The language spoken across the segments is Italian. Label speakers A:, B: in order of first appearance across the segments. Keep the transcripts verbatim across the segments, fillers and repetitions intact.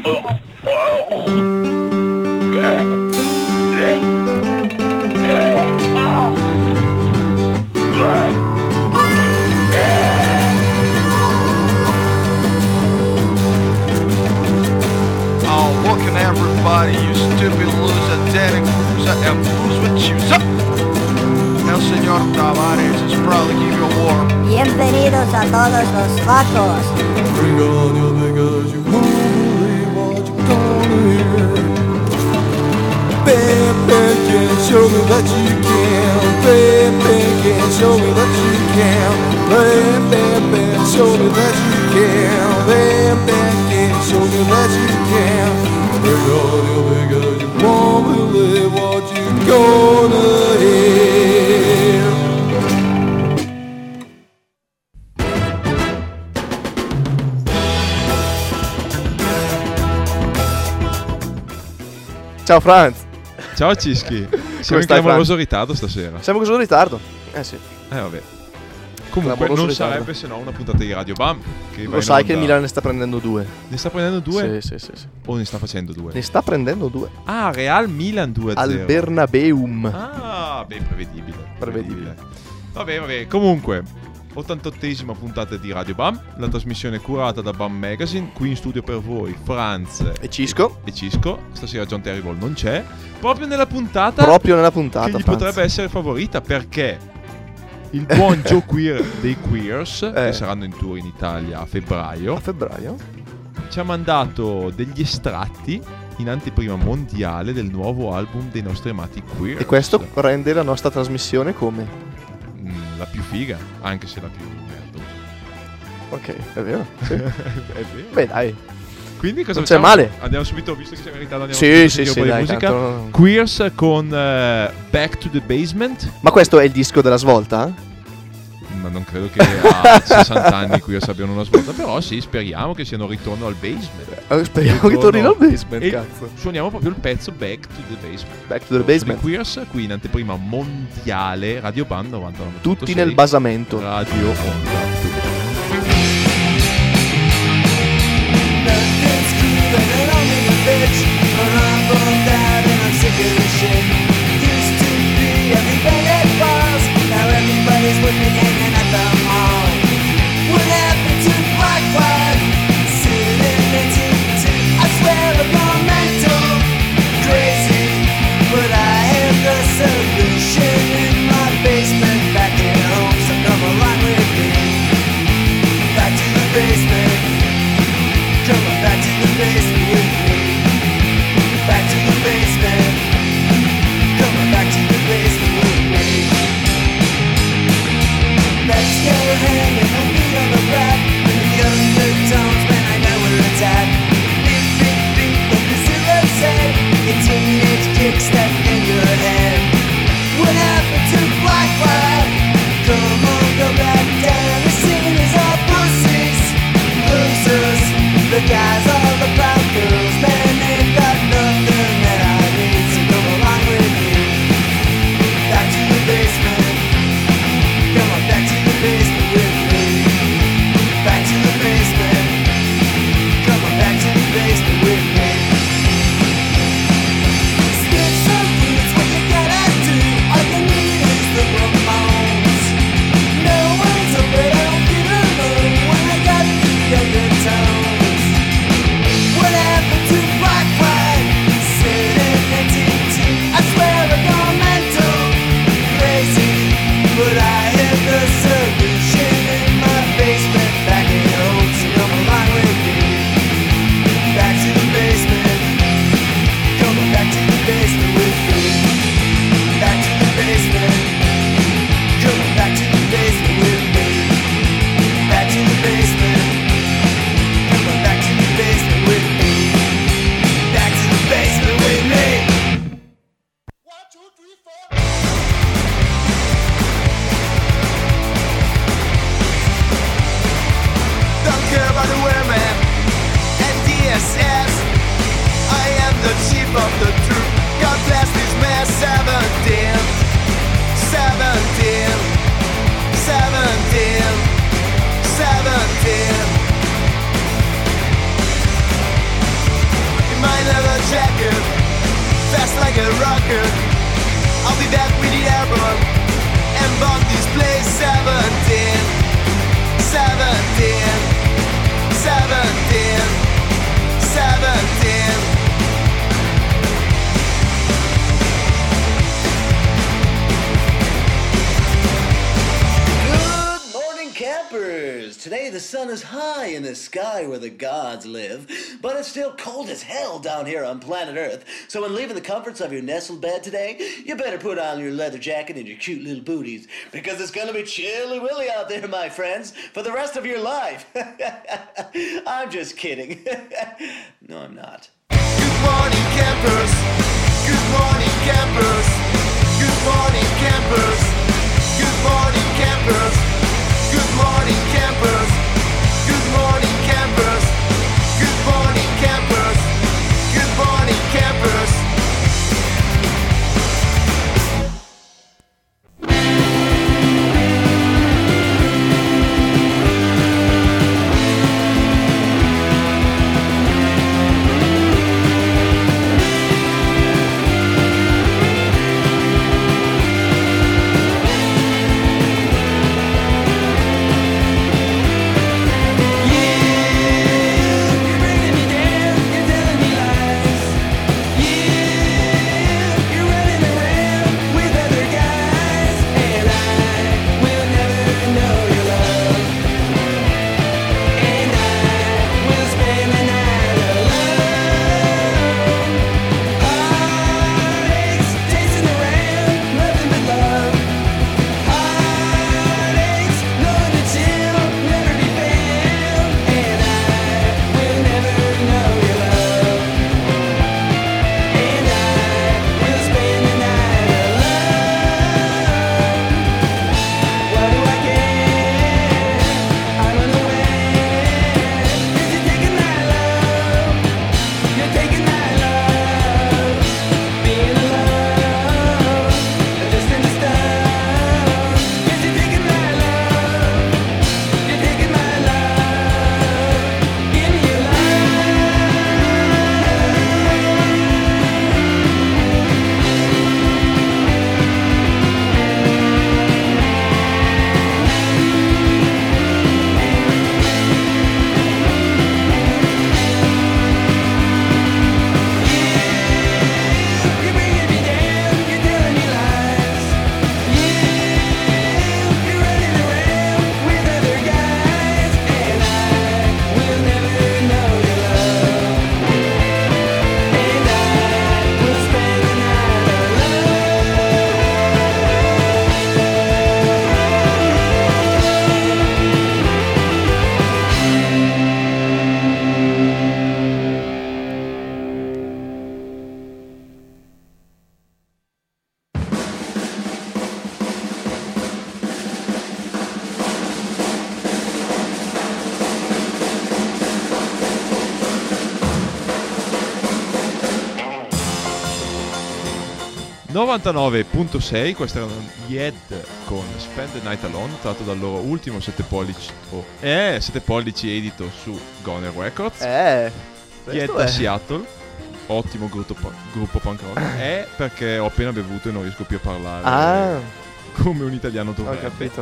A: Everybody, you stupid loser, Danny Cruiser, and who's with you? El señor Tavares is proud to give you a war.
B: Bienvenidos a todos los facos.
C: Bring on your niggas, you won't believe what you're gonna hear. Bam, bam, can show me that you can. Bam, bam, can show me that you can. Bam, bam, bam, show me that you can. Bam, bam, can show me that you can. Bring on your niggas, you won't believe what you're gonna hear.
D: Ciao Franz.
E: Ciao Cischi. Siamo in clamoroso ritardo stasera.
D: Siamo in clamoroso ritardo. Eh sì.
E: Eh vabbè. Comunque
D: Clamoroso
E: non
D: ritardo.
E: sarebbe se no una puntata di Radio Bam che va
D: Lo
E: in
D: sai che il
E: onda.
D: Milan ne sta prendendo due.
E: Ne sta prendendo due?
D: Sì, sì, sì, sì.
E: O ne sta facendo due?
D: Ne sta prendendo due.
E: Ah, Real Milan due a zero.
D: Al Bernabeum.
E: Ah, beh, prevedibile.
D: Prevedibile.
E: Vabbè, vabbè. Comunque, ottantottesima puntata di Radio Bam, la trasmissione curata da Bam Magazine. Qui in studio per voi Franz
D: E Cisco.
E: e Cisco. Stasera John Terrible non c'è. Proprio nella puntata
D: Proprio nella puntata,
E: che gli
D: Franz.
E: potrebbe essere favorita, perché il buon Joe Queer dei Queers,
D: Eh.
E: che saranno in tour in Italia a febbraio,
D: A febbraio.
E: ci ha mandato degli estratti in anteprima mondiale del nuovo album dei nostri amati Queers.
D: E questo rende la nostra trasmissione come?
E: Mm, la più figa, anche se la più merda.
D: Ok, è vero. Sì.
E: È vero.
D: Beh, dai.
E: Quindi cosa
D: Non c'è
E: facciamo?
D: male.
E: Andiamo subito, visto che siamo in ritardo, andiamo
D: Sì,
E: subito a
D: sì,
E: sentire
D: sì,
E: un po'
D: dai,
E: di musica.
D: tanto-
E: Queers con eh, Back to the Basement.
D: Ma questo è il disco della svolta?
E: Ma non credo che a sessanta anni Queers abbiano una svolta, però sì, speriamo che siano un ritorno al basement.
D: Eh, speriamo che tornino al basement,
E: E
D: cazzo.
E: suoniamo proprio il pezzo Back to the Basement.
D: Back to the basement.
E: Di Queers, qui in anteprima mondiale Radio Band novantanove punto sei.
D: Tutti nel basamento.
E: Radio Onda.
C: Solution in my basement back at home, so come along with me. jacket, fast like a rocket. I'll be back with the airborne and bomb this place. Seventeen, seventeen, seventeen, seventeen.
F: Campers! Today the sun is high in the sky where the gods live, but it's still cold as hell down here on planet Earth. So when leaving the comforts of your nestled bed today, you better put on your leather jacket and your cute little booties, because it's gonna be chilly willy out there, my friends, for the rest of your life. I'm just kidding. No, I'm not.
C: Good morning, campers. Good morning, campers. Good morning, campers. Good morning, campers. Good morning, campers. Good morning, campers. Good morning, campers. Good morning, campers.
E: novantanove virgola sei, questa era Yed con Spend the Night Alone, tratto dal loro ultimo sette pollici oh, eh, sette pollici edito su Goner Records.
D: Eh,
E: Yed
D: questo
E: da
D: è.
E: Seattle, ottimo gruppo, gruppo punk rock. È perché ho appena bevuto e non riesco più a parlare
D: Ah,
E: come un italiano
D: ho
E: dovrebbe.
D: capito.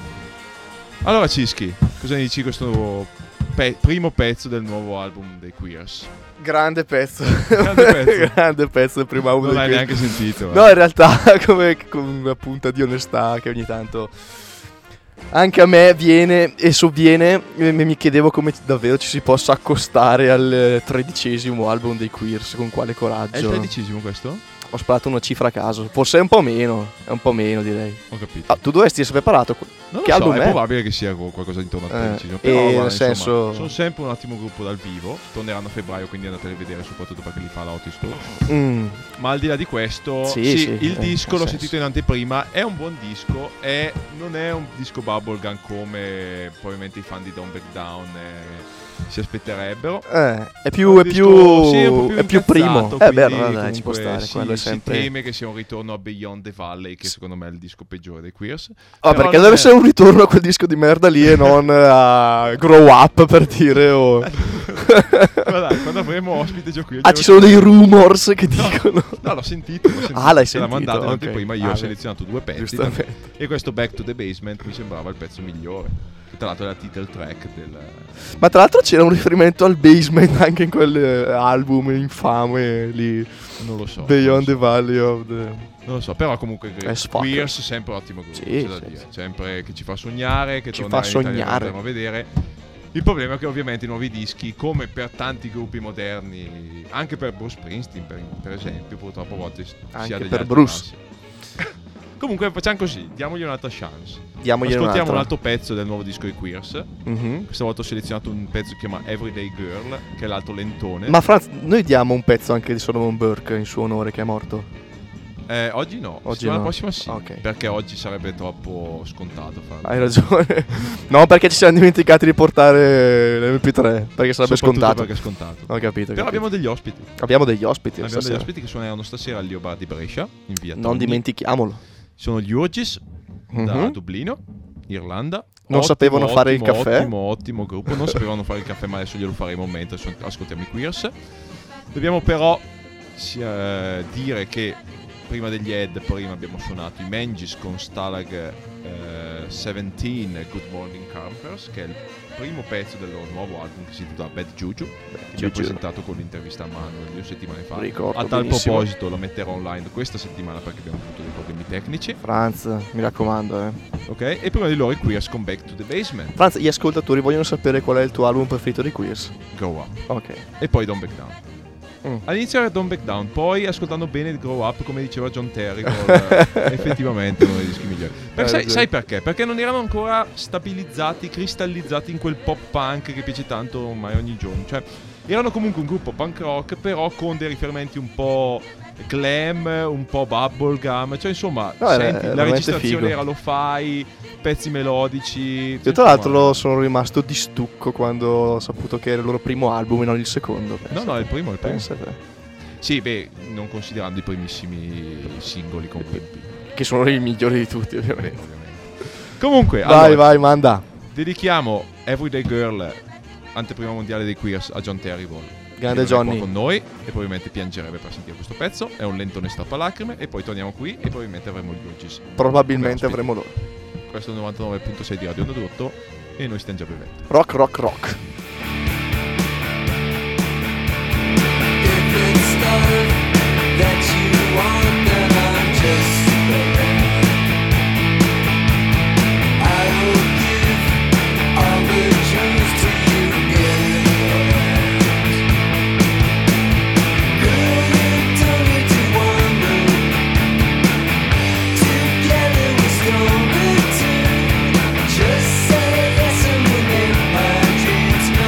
E: Allora Cischi, cosa ne dici di questo pe- primo pezzo del nuovo album dei Queers?
D: Grande pezzo.
E: Grande pezzo.
D: Grande pezzo del primo album.
E: Non l'hai
D: del-
E: neanche sentito.
D: No,
E: eh.
D: in realtà, come con una punta di onestà che ogni tanto anche a me viene e sovviene, e mi chiedevo come davvero ci si possa accostare al eh, tredicesimo album dei Queers, con quale coraggio.
E: È il tredicesimo questo?
D: Ho sparato una cifra a caso, forse è un po' meno, è un po' meno direi.
E: Ho capito.
D: Ah, tu dovresti essere preparato.
E: Non
D: che
E: lo so,
D: album
E: è
D: è?
E: probabile che sia qualcosa intorno al
D: Eh,
E: tredicesimo.
D: e
E: Però
D: nel
E: guarda, insomma,
D: senso-
E: sono sempre un attimo gruppo dal vivo. Torneranno a febbraio, quindi andateli a vedere, soprattutto perché li fa la Otis Tour.
D: Mm.
E: Ma al di là di questo,
D: Sì,
E: sì,
D: sì,
E: il
D: eh,
E: disco
D: ha
E: l'ho
D: senso.
E: sentito in anteprima. È un buon disco. È, non è un disco bubblegum come probabilmente i fan di Don't Back Down. È, si aspetterebbero.
D: Eh, è più,
E: Un
D: è
E: disco,
D: più,
E: sì, un po' più
D: è più primo.
E: incazzato,
D: Eh beh,
E: quindi
D: allora dai, ci può
E: comunque
D: stare.
E: sì,
D: Quello è
E: si
D: sempre.
E: teme che sia un ritorno a Beyond the Valley, che secondo me è il disco peggiore dei Queers.
D: Ah,
E: Però
D: perché
E: non
D: deve
E: è-
D: essere un ritorno a quel disco di merda lì e non a Grow Up, per dire. O...
E: Guarda, quando avremo ospite Gio qui.
D: Ah, ci sono dei rumors che dicono.
E: No, l'ho sentito. L'ho sentito.
D: Ah, l'hai
E: Ce l'ha
D: sentito,
E: mandato
D: ok.
E: prima. Io
D: Ah,
E: ho
D: beh.
E: selezionato due pezzi.
D: Giustamente.
E: E questo Back to the Basement mi sembrava il pezzo migliore. Che tra l'altro è la title track del.
D: Ma tra l'altro c'era un riferimento al basement anche in quell'album infame lì.
E: Non lo so.
D: Beyond
E: non lo
D: the
E: so.
D: Valley of the...
E: Non lo so, però comunque
D: È spacca.
E: Queers sempre ottimo gruppo,
D: Sì,
E: c'è da
D: sì,
E: dire.
D: sì.
E: Sempre che ci fa sognare, che
D: Ci
E: tornerà
D: fa
E: in Italia,
D: sognare.
E: lo potremo vedere. Il problema è che ovviamente i nuovi dischi, come per tanti gruppi moderni, anche per Bruce Springsteen per, per esempio, purtroppo a volte si
D: Anche
E: ha degli
D: per
E: alti
D: Bruce.
E: bassi. Comunque facciamo così, diamogli un'altra chance.
D: Diamogli
E: Ascoltiamo un
D: un'altra.
E: altro pezzo del nuovo disco di Queers.
D: Mhm.
E: Questa volta ho selezionato un pezzo che si chiama Everyday Girl, che è l'altro lentone.
D: Ma Franz, noi diamo un pezzo anche di Solomon Burke in suo onore che è morto.
E: Eh, oggi no,
D: Oggi
E: settimana
D: no.
E: prossima sì,
D: Ok.
E: perché oggi sarebbe troppo scontato farlo.
D: Hai ragione. No, perché ci siamo dimenticati di portare l'emme pi tre. Perché sarebbe
E: Soprattutto
D: scontato.
E: perché è scontato.
D: Ho capito. ho
E: Però
D: capito.
E: abbiamo degli ospiti.
D: Abbiamo degli ospiti.
E: Abbiamo degli
D: stasera.
E: ospiti che suoneranno stasera al Leo Bar di Brescia, in via
D: Non
E: Tonni.
D: dimentichiamolo.
E: Sono gli Urgis da
D: Mhm.
E: Dublino, Irlanda.
D: Non
E: Ottimo,
D: sapevano fare il
E: ottimo,
D: caffè.
E: Ottimo, ottimo gruppo. Non sapevano fare il caffè, ma adesso glielo faremo mentre adesso ascoltiamo i Queers. Dobbiamo però si- eh, dire che prima degli Ed, prima abbiamo suonato i Mangis con Stalag eh, diciassette Good Morning Campers, che è il primo pezzo del loro nuovo album che si intitola Bad Juju. Ci ho
D: Juju.
E: presentato con l'intervista a Manuel due settimane fa.
D: Ricordo
E: A tal
D: benissimo.
E: proposito lo metterò online questa settimana perché abbiamo avuto dei problemi tecnici.
D: Franz, mi raccomando, eh.
E: Ok? E prima di loro i Queers con Back to the Basement.
D: Franz, gli ascoltatori vogliono sapere qual è il tuo album preferito di Queers.
E: Grow Up.
D: Ok.
E: E poi Don't Back Down.
D: Mm.
E: All'inizio era Don't Back Down, poi ascoltando bene il Grow Up, come diceva John Terry, eh, effettivamente uno dei dischi migliori. Per-
D: Hai
E: sai,
D: ragione.
E: sai perché? Perché non erano ancora stabilizzati, cristallizzati in quel pop punk che piace tanto ormai ogni giorno. Cioè, erano comunque un gruppo punk rock, però con dei riferimenti un po' glam, un po' bubblegum. Cioè, insomma,
D: No, era-
E: senti,
D: era
E: la
D: veramente
E: registrazione
D: figo.
E: era lo-fi, pezzi melodici.
D: Io
E: cioè,
D: tra l'altro
E: insomma-
D: lo sono rimasto di stucco quando ho saputo che era il loro primo album e non il secondo.
E: No,
D: pensa
E: no, è
D: te.
E: il primo, è il primo.
D: Pensa te.
E: Sì, beh, non considerando i primissimi singoli con Webby.
D: Che sono i migliori di tutti, ovviamente.
E: Comunque,
D: Vai,
E: allora,
D: vai, manda.
E: dedichiamo Everyday Girl, anteprima mondiale dei Queers, a John Terrible.
D: Grande
E: che non è qua
D: Johnny.
E: con noi e probabilmente piangerebbe per sentire questo pezzo. È un lentone strappalacrime. E poi torniamo qui e probabilmente avremo gli Urgis.
D: Probabilmente
E: Come
D: avremo loro.
E: Questo è il novantanove virgola sei di Radio Onda d'Urto e noi stiamo già bevendo.
D: Rock, rock, rock.
G: Just say yes and win my dreams.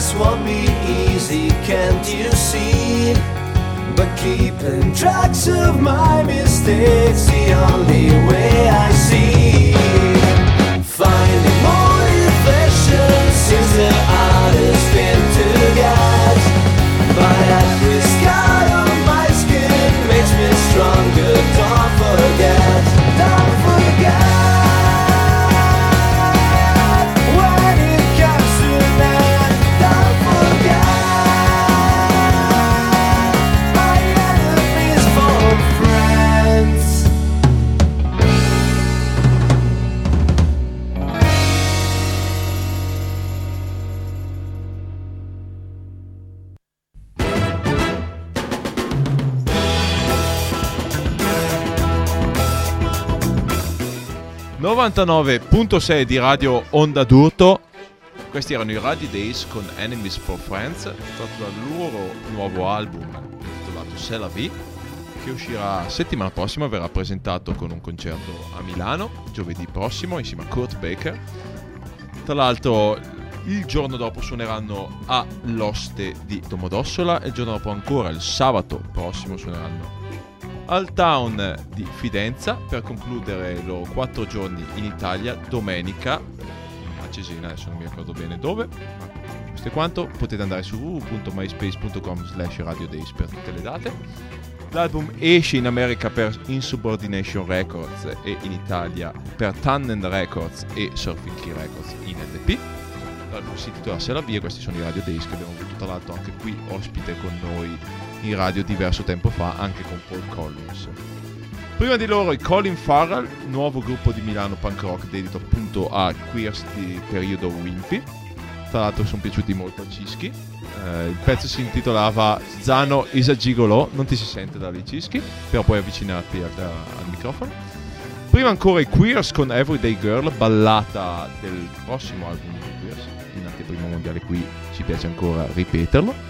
C: this won't be easy, can't you see? But keeping tracks of my mistakes, the only way I see. Finding motivation seems the hardest thing to get, but every scar on my skin makes me stronger. Don't forget, don't forget. When it comes to that, don't forget my enemies for friends.
E: novantanove virgola sei di Radio Onda d'Urto. Questi erano i Radio Days con Enemies for Friends, tratto dal loro nuovo album intitolato C'est la vie, che uscirà settimana prossima. Verrà presentato con un concerto a Milano giovedì prossimo insieme a Kurt Baker. Tra l'altro il giorno dopo suoneranno a l'Oste di Domodossola e il giorno dopo ancora, il sabato prossimo, suoneranno al Town di Fidenza per concludere i loro quattro giorni in Italia domenica a Cesena, adesso non mi ricordo bene dove, ma questo è quanto. Potete andare su w w w punto myspace punto com slash radio days per tutte le date. L'album esce in America per Insubordination Records e in Italia per Tannen Records e Surfing Key Records in L P. L'album si intitola C'est la vie e questi sono i Radio Days che abbiamo avuto tra l'altro anche qui ospite con noi in radio diverso tempo fa, anche con Paul Collins. Prima di loro i Colin Farrell, nuovo gruppo di Milano punk rock dedito appunto a queers di periodo Wimpy. Tra l'altro sono piaciuti molto a Cischi. Eh, il pezzo si intitolava Zano is a Gigolo, non ti si sente da lì Cischi, però puoi avvicinarti al, al microfono. Prima ancora i Queers con Everyday Girl, ballata del prossimo album di Queers, in anteprima mondiale, qui ci piace ancora ripeterlo.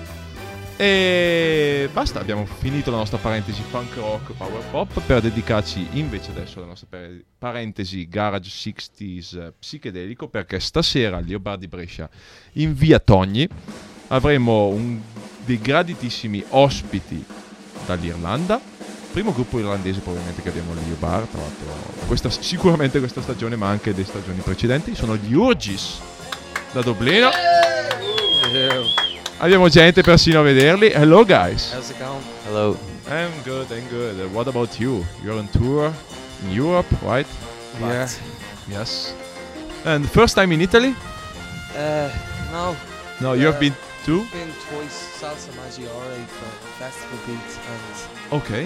E: E basta, abbiamo finito la nostra parentesi punk rock power pop per dedicarci invece adesso alla nostra parentesi garage sessanta psichedelico, perché stasera al Leopardi Brescia in via Togni avremo un, dei graditissimi ospiti dall'Irlanda, primo gruppo irlandese probabilmente che abbiamo al Leopard, tra l'altro questa, sicuramente questa stagione ma anche le stagioni precedenti. Sono gli Urgis da Dublino. Yeah. Abbiamo gente persino a vederli. Hello guys.
G: How's it going? Hello.
E: I'm good, I'm good. What about you? You're on tour in Europe, right?
G: Yeah.
E: Yes. And first time in Italy?
G: Uh, no.
E: No, you have
G: Uh,
E: been too?
G: Been twice. Salsa Maggiore for Festival Beats and
E: Okay.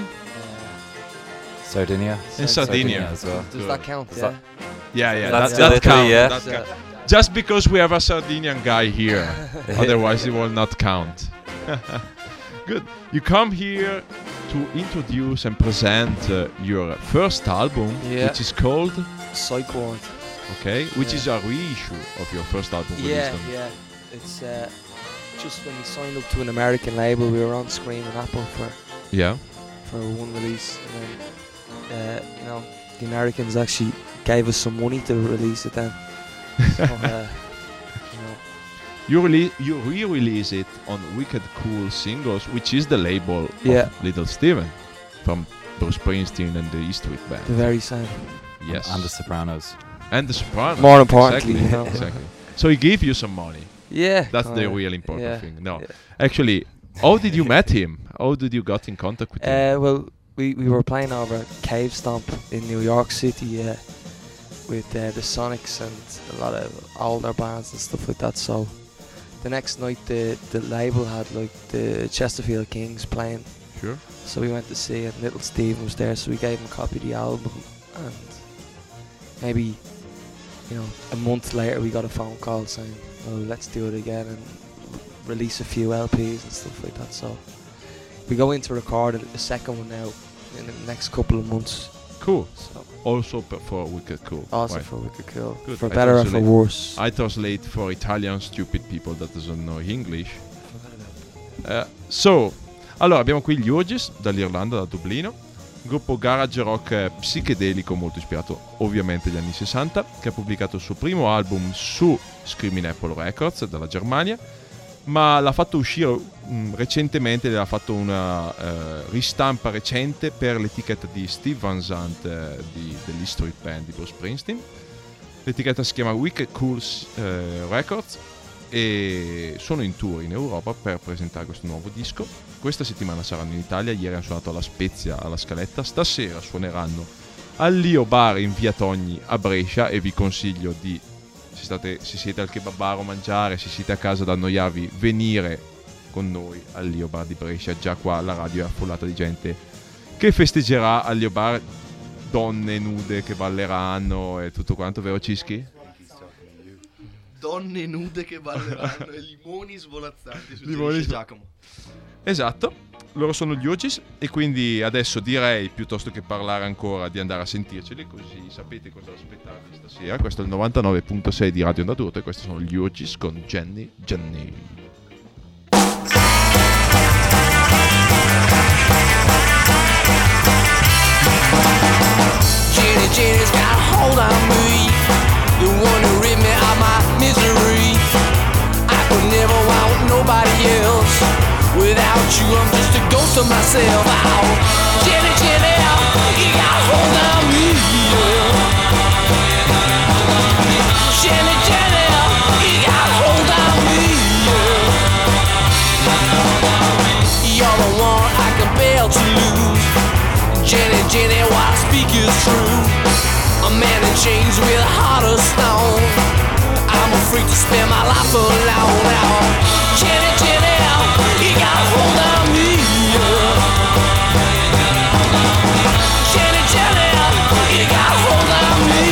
G: uh,
H: Sardinia.
E: In Sardinia.
H: Sardinia as well.
G: does that count?
H: Does
G: Yeah.
H: that-
E: Yeah, yeah,
H: That's
E: that,
H: still
E: that
H: Italy,
E: count.
H: yeah.
E: That
G: So,
E: count. Just because we have a Sardinian guy here, otherwise it will not count. Good. You come here to introduce and present uh, your first album,
G: Yeah.
E: which is called,
G: Psych Ward.
E: okay, which
G: Yeah.
E: is a reissue of your first album.
G: Yeah,
E: released on-
G: yeah. It's uh, just when we signed up to an American label, we were on Scream and Apple for
E: yeah.
G: for one release, and then uh, you know the Americans actually gave us some money to release it then. So, uh, you know,
E: You release, you re-release it on Wicked Cool Singles, which is the label
G: Yeah.
E: of Little Steven from Bruce Springsteen and the E Street Band.
G: the very same.
E: Yes.
H: And the Sopranos.
E: And the Sopranos.
G: More importantly,
E: Exactly.
G: you know.
E: Exactly. So he gave you some money.
G: Yeah,
E: That's the
G: kinda,
E: real important
G: yeah,
E: thing. No,
G: yeah.
E: actually, how did you met him? How did you got in contact with him?
G: Uh, well, we, we were playing over at Cave Stomp in New York City uh, with uh, the Sonics and a lot of older bands and stuff like that. So the next night the the label had like the Chesterfield Kings playing.
E: Sure.
G: So we went to see it. Little Steven was there, so we gave him a copy of the album. And maybe, you know, a month later we got a phone call saying, "Oh, let's do it again and release a few L Ps and stuff like that." So we go in to record a second one now in the next couple of months.
E: Cool.
G: So
E: Also p- for Wicked Cool.
G: also
E: Right.
G: for Wicked Cool,
E: Good.
G: for
E: I
G: better or for
E: translate-
G: worse.
E: I translate for Italian stupid people that doesn't know English. Uh, so, allora abbiamo qui gli Urgis dall'Irlanda, da Dublino, un gruppo garage rock eh, psichedelico molto ispirato ovviamente agli anni sessanta, che ha pubblicato il suo primo album su Screaming Apple Records dalla Germania, ma l'ha fatto uscire mh, recentemente, l'ha fatto una eh, ristampa recente per l'etichetta di Steve Van Zandt eh, di, degli Street Band di Bruce Springsteen. L'etichetta si chiama Wicked Cool eh, Records e sono in tour in Europa per presentare questo nuovo disco. Questa settimana saranno in Italia, ieri hanno suonato alla Spezia, alla Scaletta, stasera suoneranno al Lio Bar in via Togni a Brescia e vi consiglio di, se, state, se siete al kebabaro a mangiare, se siete a casa ad annoiarvi, venire con noi al Lio Bar di Brescia. Già qua la radio è affollata di gente che festeggerà al Lio Bar, donne nude che balleranno e tutto quanto, vero Cischi?
D: Donne nude che balleranno e limoni svolazzanti su
E: Limoni
D: Giacomo.
E: Esatto, loro sono gli Ogis e quindi adesso direi, piuttosto che parlare ancora, di andare a sentirceli, così sapete cosa aspettarvi stasera. Questo è il novantanove virgola sei di Radio Onda D'Urto e questi sono gli Ogis con Jenny Jenny.
H: Jenny Jenny's got a hold on me, the one who rid me of my misery. I could never want nobody else. Without you, I'm just a ghost of myself. Oh, Jenny, Jenny, you got a hold on me. Jenny, Jenny, you got a hold on me. You're the one I can bear to lose. Jenny, Jenny, what I speak is true. A man in chains with a heart of stone. I'm afraid to spend my life alone now. Jenny, Jenny, you got a hold on me. Jenny, Jenny, you got a hold on me.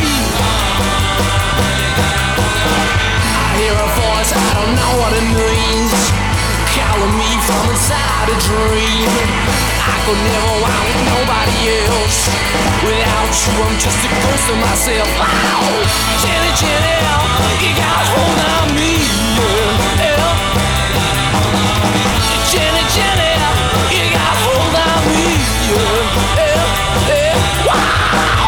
H: I hear a voice, I don't know what it means, calling me from inside a dream. I could never want nobody else. Without you, I'm just a ghost of myself. Wow, Jenny, Jenny, you got a hold on me. Yeah. Jenny, Jenny, you got a hold on me. Yeah. Yeah. Yeah. Wow.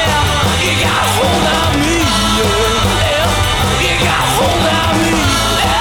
H: Hold on me, yeah. You got hold on me.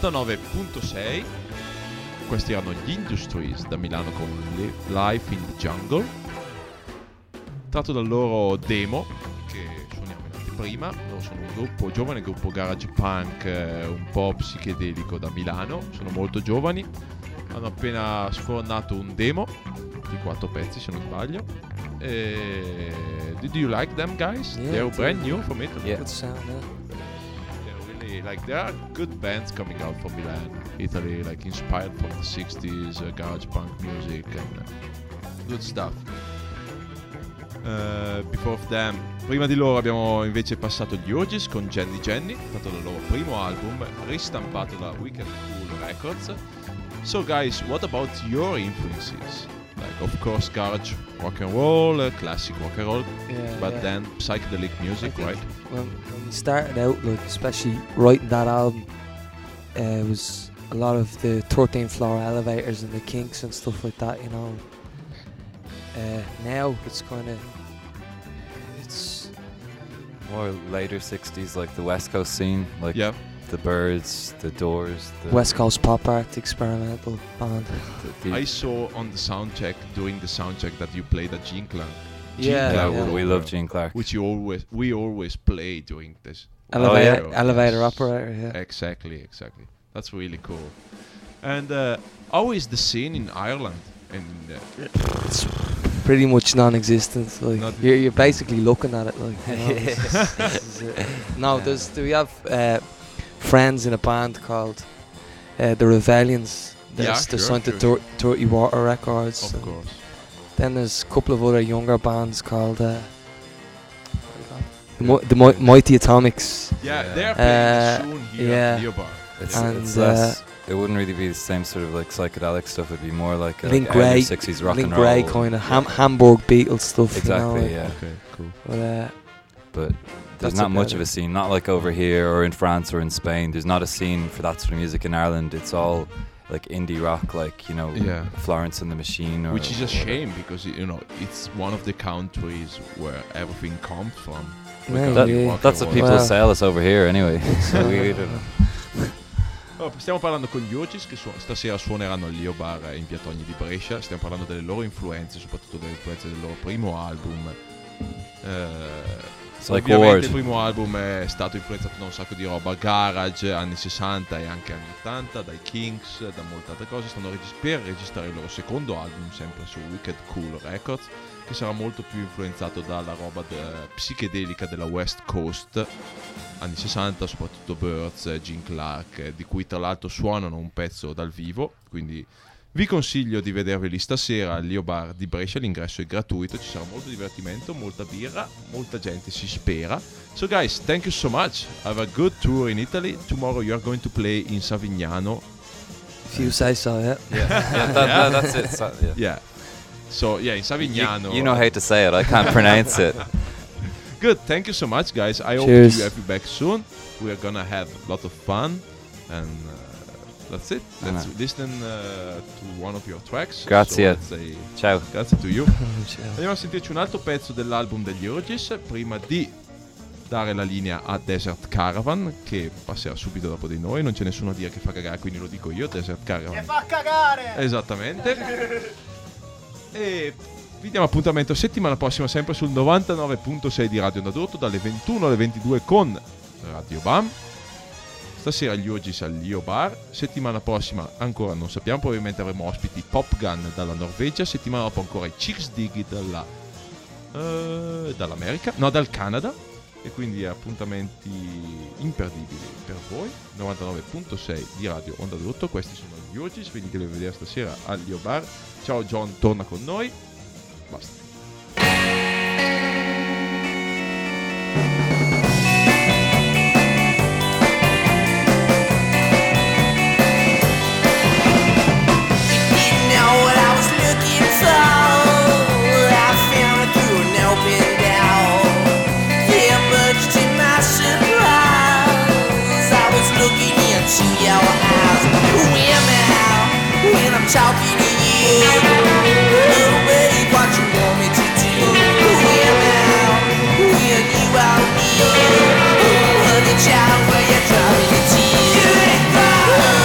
E: novantanove virgola sei. Questi erano gli Industries da Milano con Li- Life in the Jungle, tratto dal loro demo che suoniamo in anteprima. Loro sono un gruppo, giovane gruppo garage punk, eh, un po' psichedelico da Milano. Sono molto giovani, hanno appena sfornato un demo di quattro pezzi se non sbaglio. E... Did you like them guys?
G: Yeah,
E: They're
G: it's
E: brand
G: really
E: new from Italy.
G: Good sound, yeah.
E: They're really like there are good bands coming out from Milan, Italy, like inspired from the sixties uh, garage punk music and uh, good stuff. Uh, before of them, prima di loro abbiamo invece passato gli Urges con Jenny Jenny, tratto dal loro primo album ristampato da Wicked Cool Records. So guys, what about your influences? Like of course garage rock and roll, uh, classic rock and roll,
G: Yeah,
E: but
G: yeah.
E: then psychedelic music,
G: I think
E: right?
G: When, when we started out, like especially writing that album, uh, it was a lot of the thirteen floor elevators and the Kinks and stuff like that, you know. Uh, now it's kind of it's
I: More later sixties, like the West Coast scene, like
E: Yeah.
I: the Birds, the Doors, the
G: West Coast pop art experimental band.
I: the- the-
E: I saw on the sound check, during the sound check, that you played at Gene Clark.
G: Yeah,
I: yeah,
E: Clark,
G: yeah.
I: we love Gene Clark.
E: which you always we always play during this.
G: Elevator,
E: yeah.
G: elevator
E: Yes.
G: operator, yeah.
E: Exactly, exactly. That's really cool. And uh, how is the scene in Ireland? And uh,
G: It's pretty much non-existent. Like
E: Not-
G: you're, you're basically looking at it, like. You know, this- this is it. No,
I: Yeah.
G: there's we have uh, friends in a band called uh, the Rebellions.
E: Yeah,
G: There's the
E: sure,
G: signed to
E: sure.
G: Dir- Dirty Water Records.
E: of
G: and
E: course,
G: Then there's a couple of other younger bands called uh, the, Mo- the Mo- Mighty Atomics.
E: yeah,
I: Yeah.
E: they're playing
G: Uh,
E: soon here
G: yeah.
E: at Leobar.
I: It's,
G: And,
I: it's
G: uh,
I: less. It wouldn't really be the same sort of like psychedelic stuff. It'd be more like, a,
G: Link
I: like early
G: Grey,
I: sixties rock
G: Link
I: and roll.
G: Grey kind of ham- Hamburg Beatles stuff.
I: Exactly,
G: You know,
I: yeah.
E: Okay, cool.
G: But, uh,
I: But there's
G: That's
I: not
G: about
I: much of
G: it.
I: a scene. Not like over here or in France or in Spain. There's not a scene for that sort of music in Ireland. It's all like indie rock, like you know,
E: Yeah.
I: Florence and the Machine. Or
E: Which is a
I: whatever.
E: shame because you know it's one of the countries where everything comes from.
G: Yeah,
E: Like,
I: That-
G: yeah.
E: rock
I: That's
E: and
I: what
E: roll.
I: people
G: Well.
I: sell us over here anyway. So we don't know.
E: Oh, stiamo parlando con gli Urges che su- stasera suoneranno al Lio Bar in via Togni di Brescia. Stiamo parlando delle loro influenze, soprattutto delle influenze del loro primo album. Eh,
I: It's like
E: ovviamente
I: Ward.
E: il primo album è stato influenzato da un sacco di roba garage, anni sessanta e anche anni ottanta, dai Kinks, da molte altre cose. Stanno regis- per registrare il loro secondo album, sempre su Wicked Cool Records, che sarà molto più influenzato dalla roba de- psichedelica della West Coast, anni sessanta, soprattutto Birds, Gene Clark, eh, di cui tra l'altro suonano un pezzo dal vivo, quindi vi consiglio di vederveli stasera al Lio Bar di Brescia. L'ingresso è gratuito, ci sarà molto divertimento, molta birra, molta gente si spera. So guys, thank you so much, have a good tour in Italy. Tomorrow you are going to play in Savignano.
G: if you say so, yeah.
I: Yeah, yeah, that, that, that's it. So, yeah.
E: Yeah, so yeah, in Savignano.
I: You, you know how to say it. I can't pronounce it.
E: Good, thank you so much guys, I hope
G: Cheers.
E: to have you back soon. We are gonna have a lot of fun and uh, that's it. Let's
I: Anna.
E: listen uh, to one of your tracks.
I: Grazie.
E: So let's say
I: Ciao.
E: grazie to you.
G: Ciao.
E: Andiamo a sentirci un altro pezzo dell'album degli Urges prima di dare la linea a Desert Caravan, che passerà subito dopo di noi. Non c'è nessuno a dire che fa cagare, quindi lo dico io, Desert Caravan. Che fa cagare! Esattamente. E vi diamo appuntamento settimana prossima sempre sul novantanove virgola sei di Radio Onda d'Urto dalle ventuno alle ventidue con Radio Bam. Stasera gli Urges al Lio Bar. Settimana prossima ancora non sappiamo, probabilmente avremo ospiti Pop Gun dalla Norvegia. Settimana dopo ancora i Chicks Diggy dalla, uh, dall'America, no dal Canada. E quindi appuntamenti imperdibili per voi. novantanove virgola sei di Radio Onda d'Urto. Questi sono gli Urges, veniteli a vedere stasera al Lio Bar. Ciao John, torna con noi. Basta.
H: Didn't know what I was looking for. I found it through an open door. Yeah, much to my surprise, I was looking into your eyes. Who am I when I'm talking to you? Oh, babe, what you want me to do? Who am I when you are near? Oh, honey child, where you driving me to? You ain't far.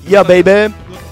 D: Yeah, baby.